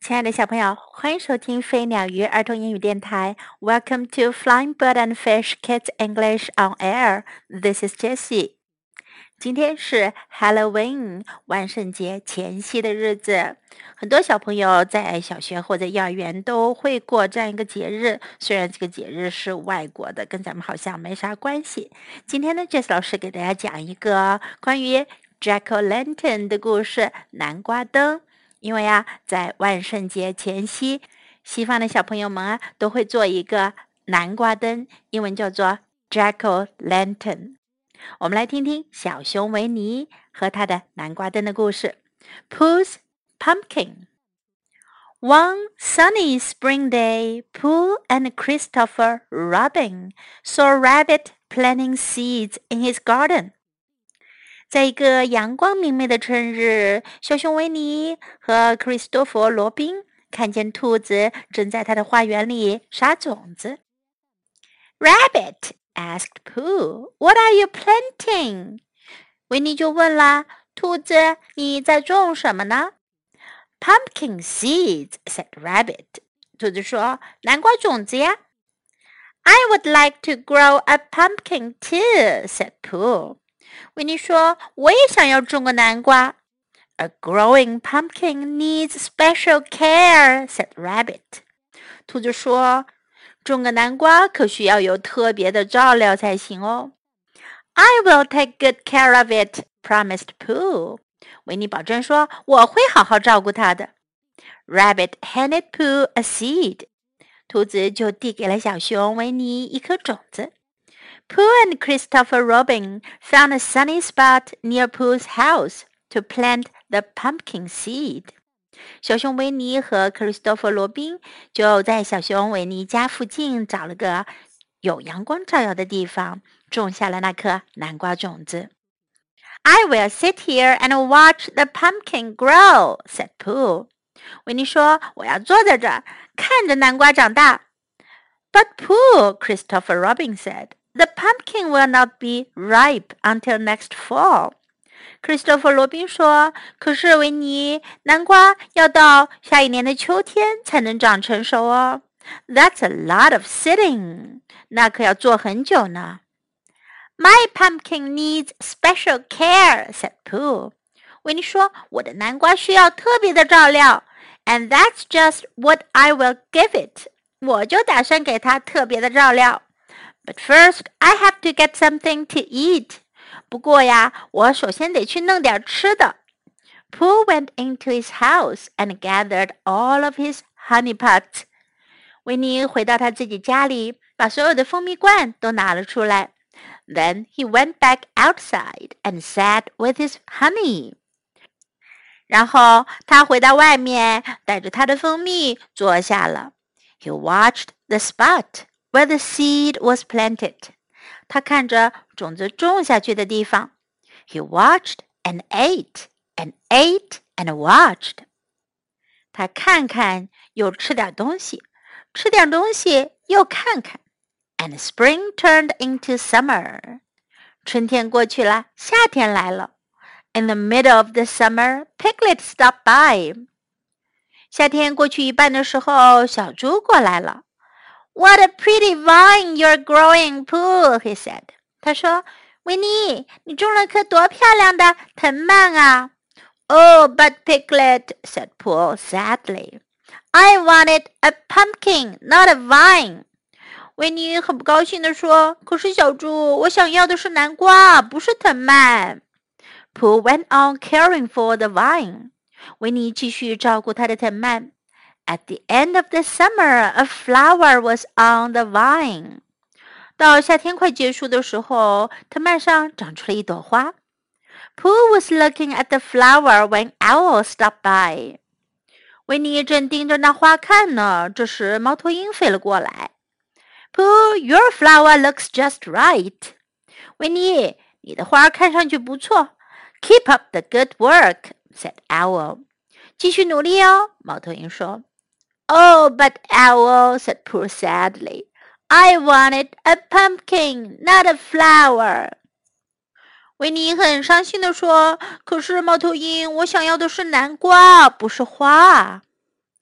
亲爱的小朋友，欢迎收听飞鸟鱼儿童英语电台。Welcome to Flying Bird and Fish Kids English on Air. This is Jessie. 今天是 Halloween 万圣节前夕的日子，很多小朋友在小学或者幼儿园都会过这样一个节日。虽然这个节日是外国的，跟咱们好像没啥关系。今天呢 Jessie 老师给大家讲一个关于 Jack-o'-lantern 的故事，南瓜灯。因为在万圣节前夕，西方的小朋友们都会做一个南瓜灯，英文叫做 Jack-o'-lantern。我们来听听小熊维尼和他的南瓜灯的故事。Pooh's Pumpkin. One sunny spring day, Pooh and Christopher Robin saw a rabbit planting seeds in his garden.在一个阳光明媚的春日，小熊维尼和克里斯多弗·罗宾看见兔子正在他的花园里撒种子。Rabbit asked Pooh, "What are you planting?" 维尼就问啦：“兔子，你在种什么呢？” "Pumpkin seeds," said Rabbit. 兔子说：“南瓜种子呀。” "I would like to grow a pumpkin too," said Pooh.维尼说：“我也想要种个南瓜。” "A growing pumpkin needs special care," said Rabbit. 兔子说：“种个南瓜可需要有特别的照料才行哦。” "I will take good care of it," promised Pooh. 维尼保证说：“我会好好照顾它的。” Rabbit handed Pooh a seed. 兔子就递给了小熊维尼一颗种子。Pooh and Christopher Robin found a sunny spot near Pooh's house to plant the pumpkin seed. 小熊维尼和克里斯多弗·罗宾就在小熊维尼家附近找了个有阳光照耀的地方，种下了那颗南瓜种子。I will sit here and watch the pumpkin grow, said Pooh. 维尼说：“我要坐在这儿，看着南瓜长大。” But Pooh, Christopher Robin said.The pumpkin will not be ripe until next fall. 克里斯托弗·罗宾说：“可是维尼，南瓜要到下一年的秋天才能长成熟哦。” That's a lot of sitting. 那可要坐很久呢。My pumpkin needs special care, said Pooh. 维尼说：“我的南瓜需要特别的照料。” And that's just what I will give it. 我就打算给它特别的照料。But first, I have to get something to eat. 不过呀，我首先得去弄点吃的。Pooh went into his house and gathered all of his honey pots. 维尼回到他自己家里，把所有的蜂蜜罐都拿了出来。Then he went back outside and sat with his honey. 然后他回到外面，带着他的蜂蜜坐下了。He watched the spot.Where the seed was planted. 他看着种子种下去的地方。He watched and ate and ate and watched. 他看看又吃点东西，吃点东西又看看。And spring turned into summer. 春天过去了，夏天来了。In the middle of the summer, Piglet stopped by. 夏天过去一半的时候，小猪过来了。What a pretty vine you're growing, Pooh, he said. 他说，维尼，你种了棵多漂亮的藤蔓啊。Oh, but Piglet, said Pooh sadly. I wanted a pumpkin, not a vine. 维尼很不高兴地说，可是小猪，我想要的是南瓜，不是藤蔓。Pooh went on caring for the vine. 维尼继续照顾他的藤蔓。At the end of the summer, a flower was on the vine. 到夏天快结束的时候，藤蔓上长出了一朵花。Pooh was looking at the flower when Owl stopped by. 维尼正盯着那花看呢，这时猫头鹰飞了过来。Pooh, your flower looks just right. 维尼，你的花看上去不错。Keep up the good work, said Owl. 继续努力哦，猫头鹰说。Oh, but Owl, said Pooh sadly, I wanted a pumpkin, not a flower. 维尼很伤心地说，可是猫头鹰，我想要的是南瓜，不是花。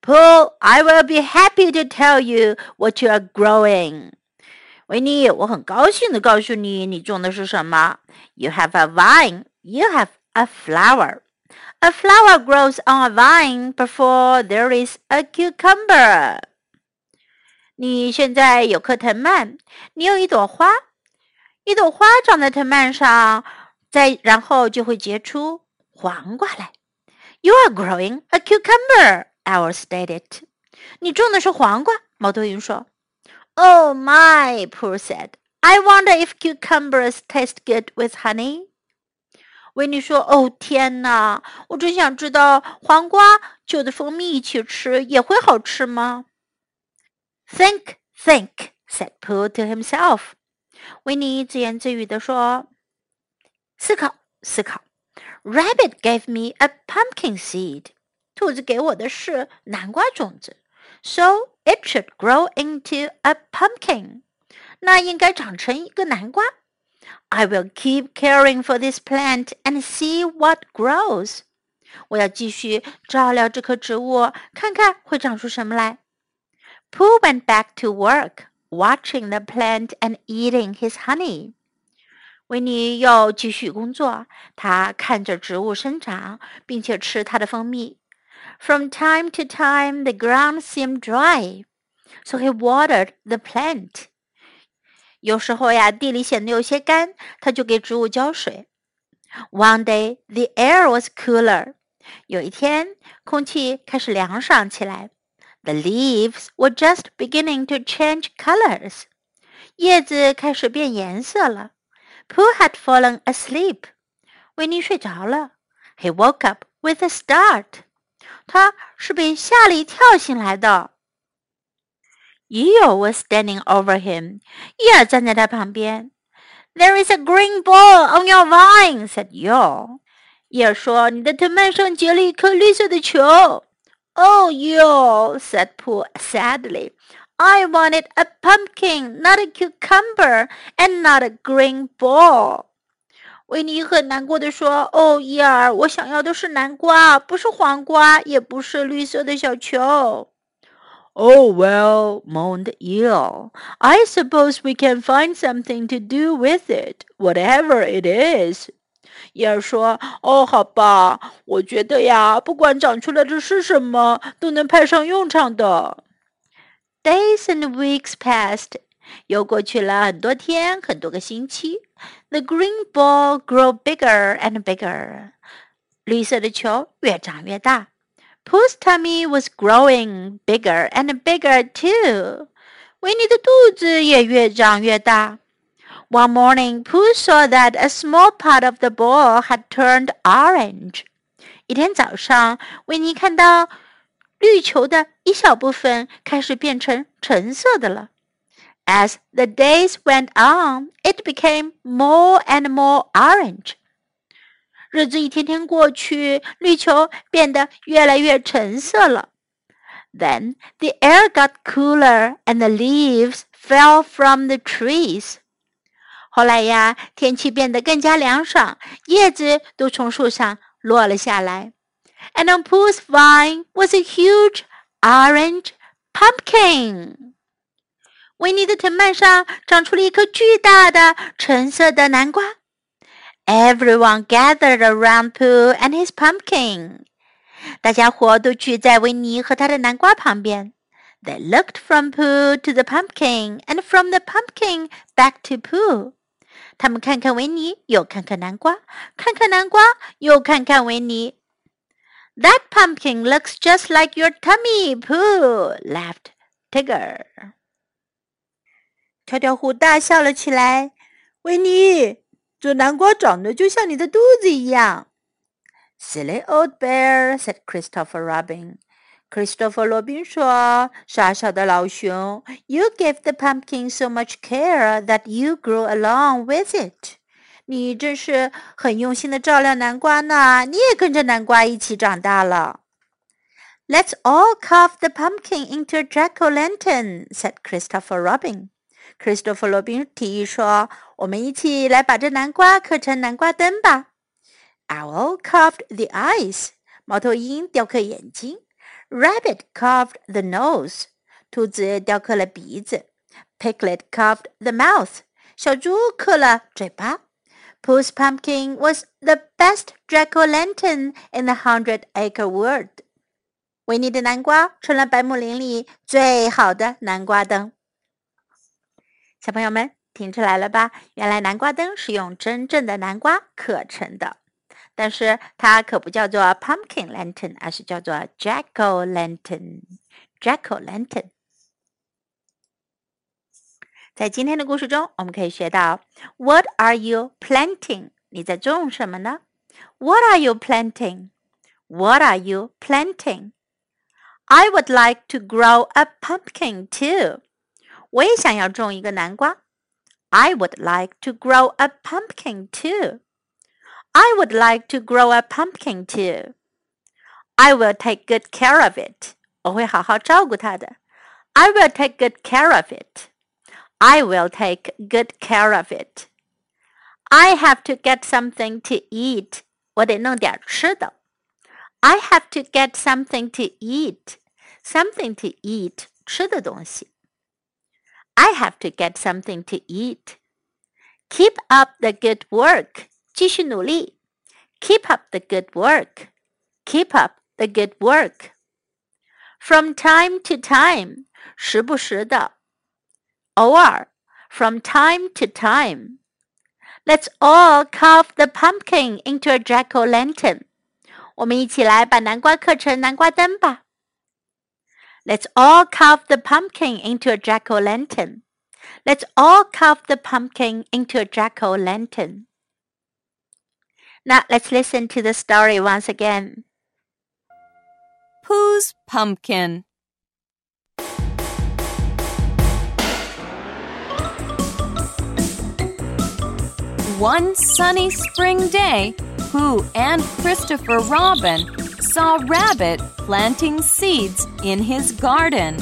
Pooh, I will be happy to tell you what you are growing. 维尼，我很高兴地告诉你，你种的是什么。You have a vine. You have a flower. A flower grows on a vine before there is a cucumber. 你现在有颗藤蔓，你有一朵花，一朵花长在藤蔓上，然后就会结出黄瓜来。You are growing a cucumber, Owl stated. 你种的是黄瓜，猫头鹰说。Oh my, Pooh said. I wonder if cucumbers taste good with honey. 维尼说：“哦，天哪！我真想知道黄瓜就着蜂蜜一起吃也会好吃吗？” Think, think, said Pooh to himself. 维尼自言自语地说：“思考，思考。Rabbit gave me a pumpkin seed. 兔子给我的是南瓜种子。So it should grow into a pumpkin. 那应该长成一个南瓜。I will keep caring for this plant and see what grows. 我要继续照料这棵植物，看看会长出什么来。Pooh went back to work, watching the plant and eating his honey. 维尼又继续工作，他看着植物生长，并且吃它的蜂蜜。From time to time, the ground seemed dry, so he watered the plant. 有时候呀，地里显得有些干，他就给植物浇水。One day, the air was cooler. 有一天，空气开始凉爽起来。The leaves were just beginning to change colors. 叶子开始变颜色了。Pooh had fallen asleep. 维尼睡着了。He woke up with a start. 他是被吓了一跳醒来的。Eeyore was standing over him. 伊尔站在他旁边。There is a green ball on your vine, said Eeyore. 伊尔说：“你的藤蔓上结了一颗绿色的球。” Oh, Eeyore, said Pooh sadly. I wanted a pumpkin, not a cucumber, and not a green ball. 维尼很难过地说：“哦，伊尔，我想要的是南瓜，不是黄瓜，也不是绿色的小球。” Oh, well, moaned Eeyore. I suppose we can find something to do with it, whatever it is. 伊尔说：“哦，好吧，我觉得呀，不管长出来的是什么，都能派上用场的。” Days and weeks passed. 又过去了很多天，很多个星期。The green ball grew bigger and bigger. 绿色的球越长越大。Pooh's tummy was growing bigger and bigger too. 维尼的肚子也越长越大。One morning, Pooh saw that a small part of the ball had turned orange. 一天早上，维尼看到绿球的一小部分开始变成橙色的了。As the days went on, it became more and more orange. 日子一天天过去，绿球变得越来越橙色了。Then the air got cooler and the leaves fell from the trees. 后来呀，天气变得更加凉爽，叶子都从树上落了下来。And on Pooh's vine was a huge orange pumpkin. 维尼的藤蔓上长出了一颗巨大的橙色的南瓜。Everyone gathered around Pooh and his pumpkin. 大家伙都聚在维尼和他的南瓜旁边。They looked from Pooh to the pumpkin and from the pumpkin back to Pooh. 他们看看维尼，又看看南瓜，看看南瓜，又看看维尼。That pumpkin looks just like your tummy, Pooh, laughed Tigger. 跳跳虎大笑了起来。维尼，这南瓜长得就像你的肚子一样。Silly old bear, said Christopher Robin. Christopher 罗宾说：“傻小的老熊 ，You gave the pumpkin so much care that you grew along with it. 你真是很用心的照料南瓜呢，你也跟着南瓜一起长大了。” Let's all carve the pumpkin into a jack-o'-lantern, said Christopher Robin. Christopher 罗宾提议说：“我们一起来把这南瓜刻成南瓜灯吧。” Owl carved the eyes. 猫头鹰雕刻眼睛。 Rabbit carved the nose. 兔子雕刻了鼻子。Piglet carved the mouth. 小猪刻了嘴巴。Pooh's pumpkin was the best jack-o'-lantern in the 100-acre world. 维尼的南瓜成了百亩林里最好的南瓜灯。小朋友们听出来了吧？原来南瓜灯是用真正的南瓜刻成的，但是它可不叫做 pumpkin lantern， 而是叫做 jack-o'-lantern。jack-o'-lantern。在今天的故事中，我们可以学到 What are you planting？ 你在种什么呢？ What are you planting? What are you planting? I would like to grow a pumpkin too. 我也想要种一个南瓜。I would like to grow a pumpkin too. I would like to grow a pumpkin too. I will take good care of it. 我会好好照顾它的。I will take good care of it. I will take good care of it. I have to get something to eat. 我得弄点吃的。I have to get something to eat. Something to eat. 吃的东西。I have to get something to eat. Keep up the good work. 继续努力。Keep up the good work. Keep up the good work. From time to time. 时不时的。偶尔。From time to time. Let's all carve the pumpkin into a jack-o'-lantern. 我们一起来把南瓜刻成南瓜灯吧。Let's all carve the pumpkin into a jack-o'-lantern. Let's all carve the pumpkin into a jack-o'-lantern. Now let's listen to the story once again. Pooh's Pumpkin. One sunny spring day, Pooh and Christopher Robin saw Rabbit planting seeds in his garden.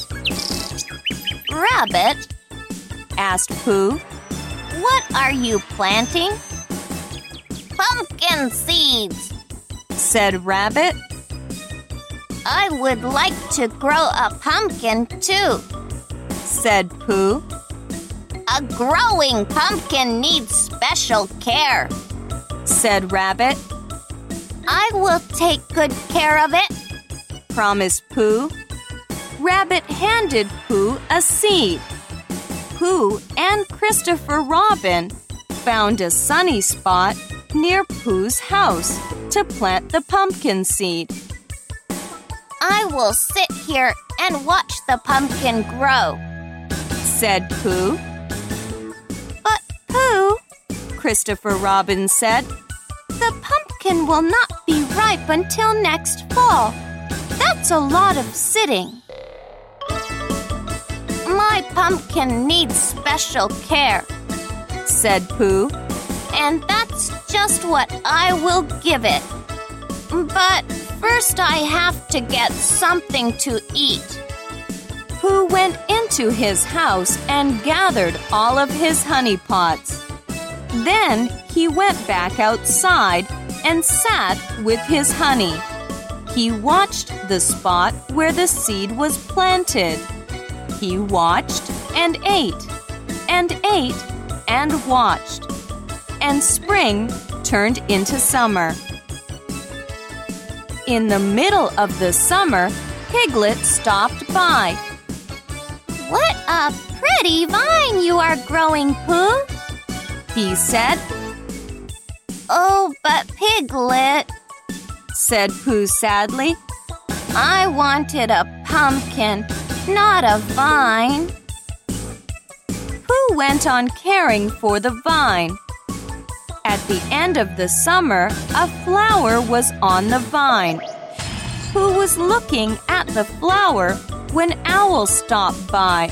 Rabbit, asked Pooh, what are you planting? Pumpkin seeds, said Rabbit. I would like to grow a pumpkin too, said Pooh. A growing pumpkin needs special care, said Rabbit. I will take good care of it, promised Pooh. Rabbit handed Pooh a seed. Pooh and Christopher Robin found a sunny spot near Pooh's house to plant the pumpkin seed. I will sit here and watch the pumpkin grow, said Pooh. But Pooh, Christopher Robin said, the pumpkin will not be ripe until next fall. That's a lot of sitting. My pumpkin needs special care, said Pooh. And that's just what I will give it. But first I have to get something to eat. Pooh went into his house and gathered all of his honey pots. Then he went back outside and sat with his honey. He watched the spot where the seed was planted. He watched and ate and watched. And spring turned into summer. In the middle of the summer, Piglet stopped by. What a pretty vine you are growing, Pooh, he said. Oh, but Piglet, said Pooh sadly, I wanted a pumpkin, not a vine. Pooh went on caring for the vine. At the end of the summer, a flower was on the vine. Pooh was looking at the flower when Owl stopped by.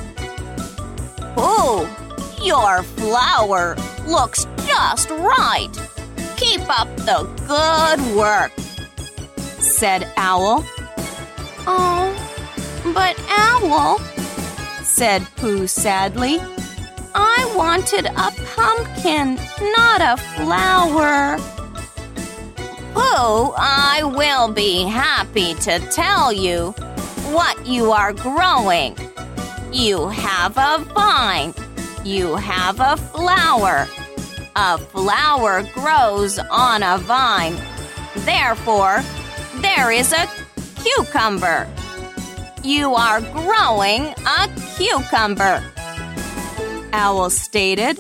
Pooh, your flower looks just right. Keep up the good work, said Owl. Oh, but Owl, said Pooh sadly, I wanted a pumpkin, not a flower. Pooh, I will be happy to tell you what you are growing. You have a vine. You have a flower. A flower grows on a vine. Therefore, there is a cucumber. You are growing a cucumber, Owl stated.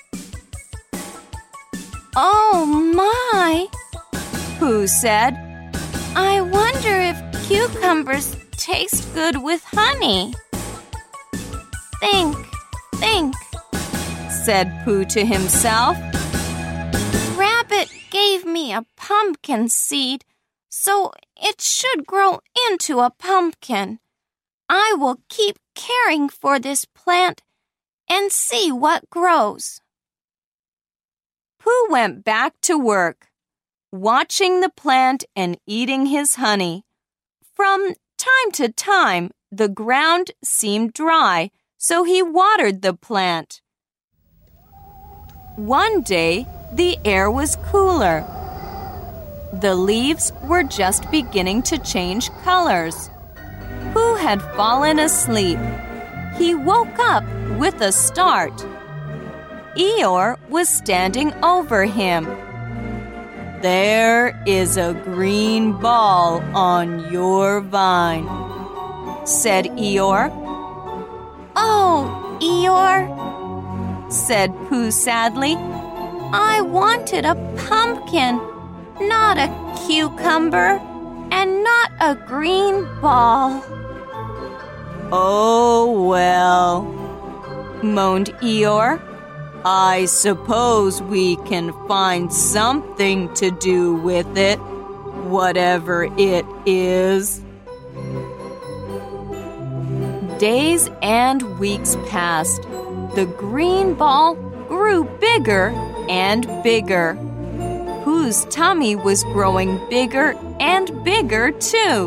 Oh my, Pooh said. I wonder if cucumbers taste good with honey. Think, said Pooh to himself. Rabbit gave me a pumpkin seed, so it should grow into a pumpkin. I will keep caring for this plant and see what grows. Pooh went back to work, watching the plant and eating his honey. From time to time, the ground seemed dry, so he watered the plant. One day, the air was cooler. The leaves were just beginning to change colors. Pooh had fallen asleep. He woke up with a start. Eeyore was standing over him. There is a green ball on your vine, said Eeyore. Oh, Eeyore, said Pooh sadly. I wanted a pumpkin, not a cucumber, and not a green ball. Oh, well, moaned Eeyore. I suppose we can find something to do with it, whatever it is. Days and weeks passed. The green ball grew bigger and bigger. Pooh's tummy was growing bigger and bigger, too.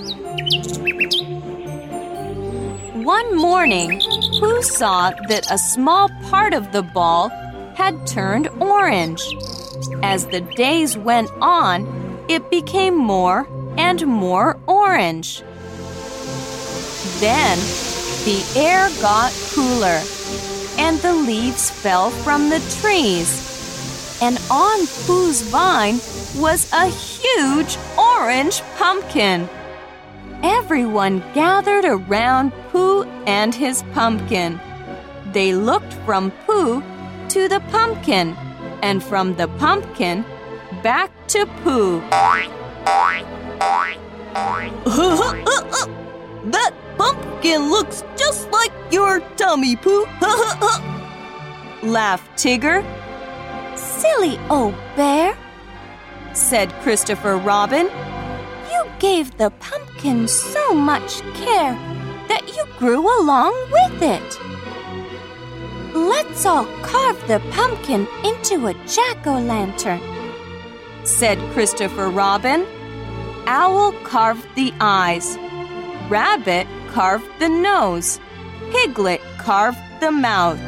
One morning, Pooh saw that a small part of the ball had turned orange. As the days went on, it became more and more orange. Then, the air got cooler, and the leaves fell from the trees. And on Pooh's vine was a huge orange pumpkin. Everyone gathered around Pooh and his pumpkin. They looked from Pooh to the pumpkin, and from the pumpkin back to Pooh. That pumpkin looks just like your tummy, Pooh, laughed Tigger. Silly old bear, said Christopher Robin. You gave the pumpkin so much care that you grew along with it. Let's all carve the pumpkin into a jack-o'-lantern, said Christopher Robin. Owl carved the eyes. Rabbit carved the nose. Piglet carved the mouth.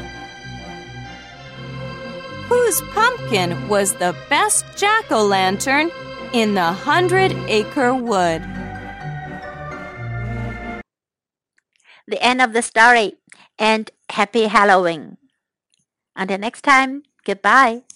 Pooh's pumpkin was the best jack-o'-lantern in the 100-acre wood. The end of the story, and happy Halloween. Until next time, goodbye.